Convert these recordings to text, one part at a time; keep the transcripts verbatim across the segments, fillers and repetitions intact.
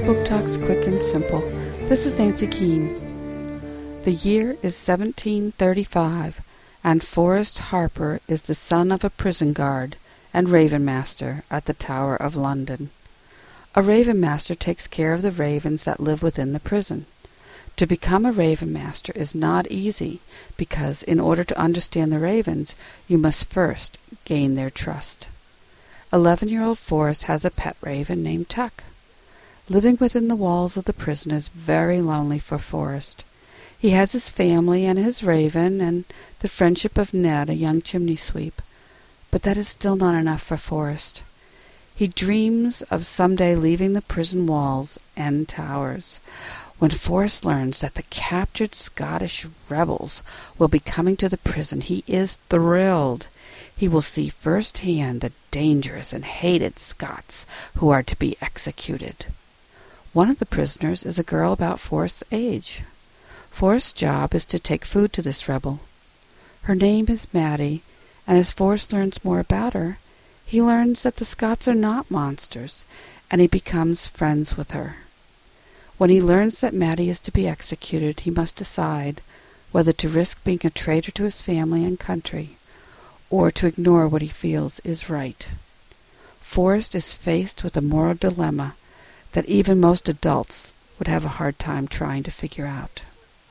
Book Talks Quick and Simple. This is Nancy Keene. The year is seventeen thirty-five, and Forrest Harper is the son of a prison guard and raven master at the Tower of London. A raven master takes care of the ravens that live within the prison. To become a raven master is not easy because in order to understand the ravens, you must first gain their trust. Eleven-year-old Forrest has a pet raven named Tuck. Living within the walls of the prison is very lonely for Forrest. He has his family and his raven and the friendship of Ned, a young chimney sweep. But that is still not enough for Forrest. He dreams of someday leaving the prison walls and towers. When Forrest learns that the captured Scottish rebels will be coming to the prison, he is thrilled. He will see firsthand the dangerous and hated Scots who are to be executed. One of the prisoners is a girl about Forrest's age. Forrest's job is to take food to this rebel. Her name is Maddie, and as Forrest learns more about her, he learns that the Scots are not monsters, and he becomes friends with her. When he learns that Maddie is to be executed, he must decide whether to risk being a traitor to his family and country, or to ignore what he feels is right. Forrest is faced with a moral dilemma that even most adults would have a hard time trying to figure out.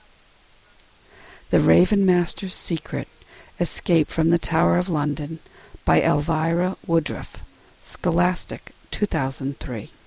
The Raven Master's Secret: Escape from the Tower of London by Elvira Woodruff, Scholastic, two thousand three.